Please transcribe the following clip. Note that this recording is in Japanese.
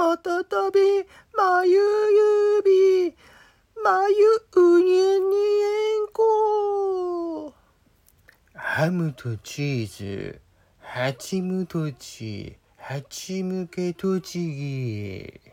またたびまゆゆびまゆうにゅにえんこ。ハムとチーズ、ハチムトチ、ハチムケトチギ。